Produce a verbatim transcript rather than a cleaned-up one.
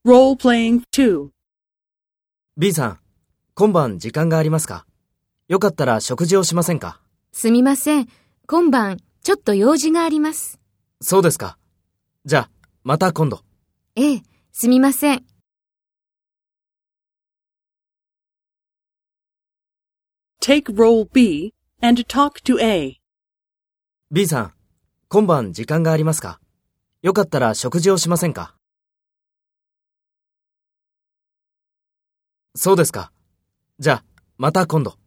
Role-playing two. B さん、今晩時間がありますか？よかったら食事をしませんか？ すみません。今晩、ちょっと用事があります。 そうですか。じゃあ、また今度。 ええ、すみません。 Take role B and talk to A. B さん、今晩時間がありますか？よかったら食事をしませんか？そうですか。じゃあ、また今度。